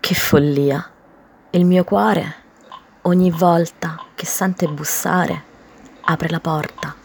Che follia! Il mio cuore, ogni volta che sente bussare, apre la porta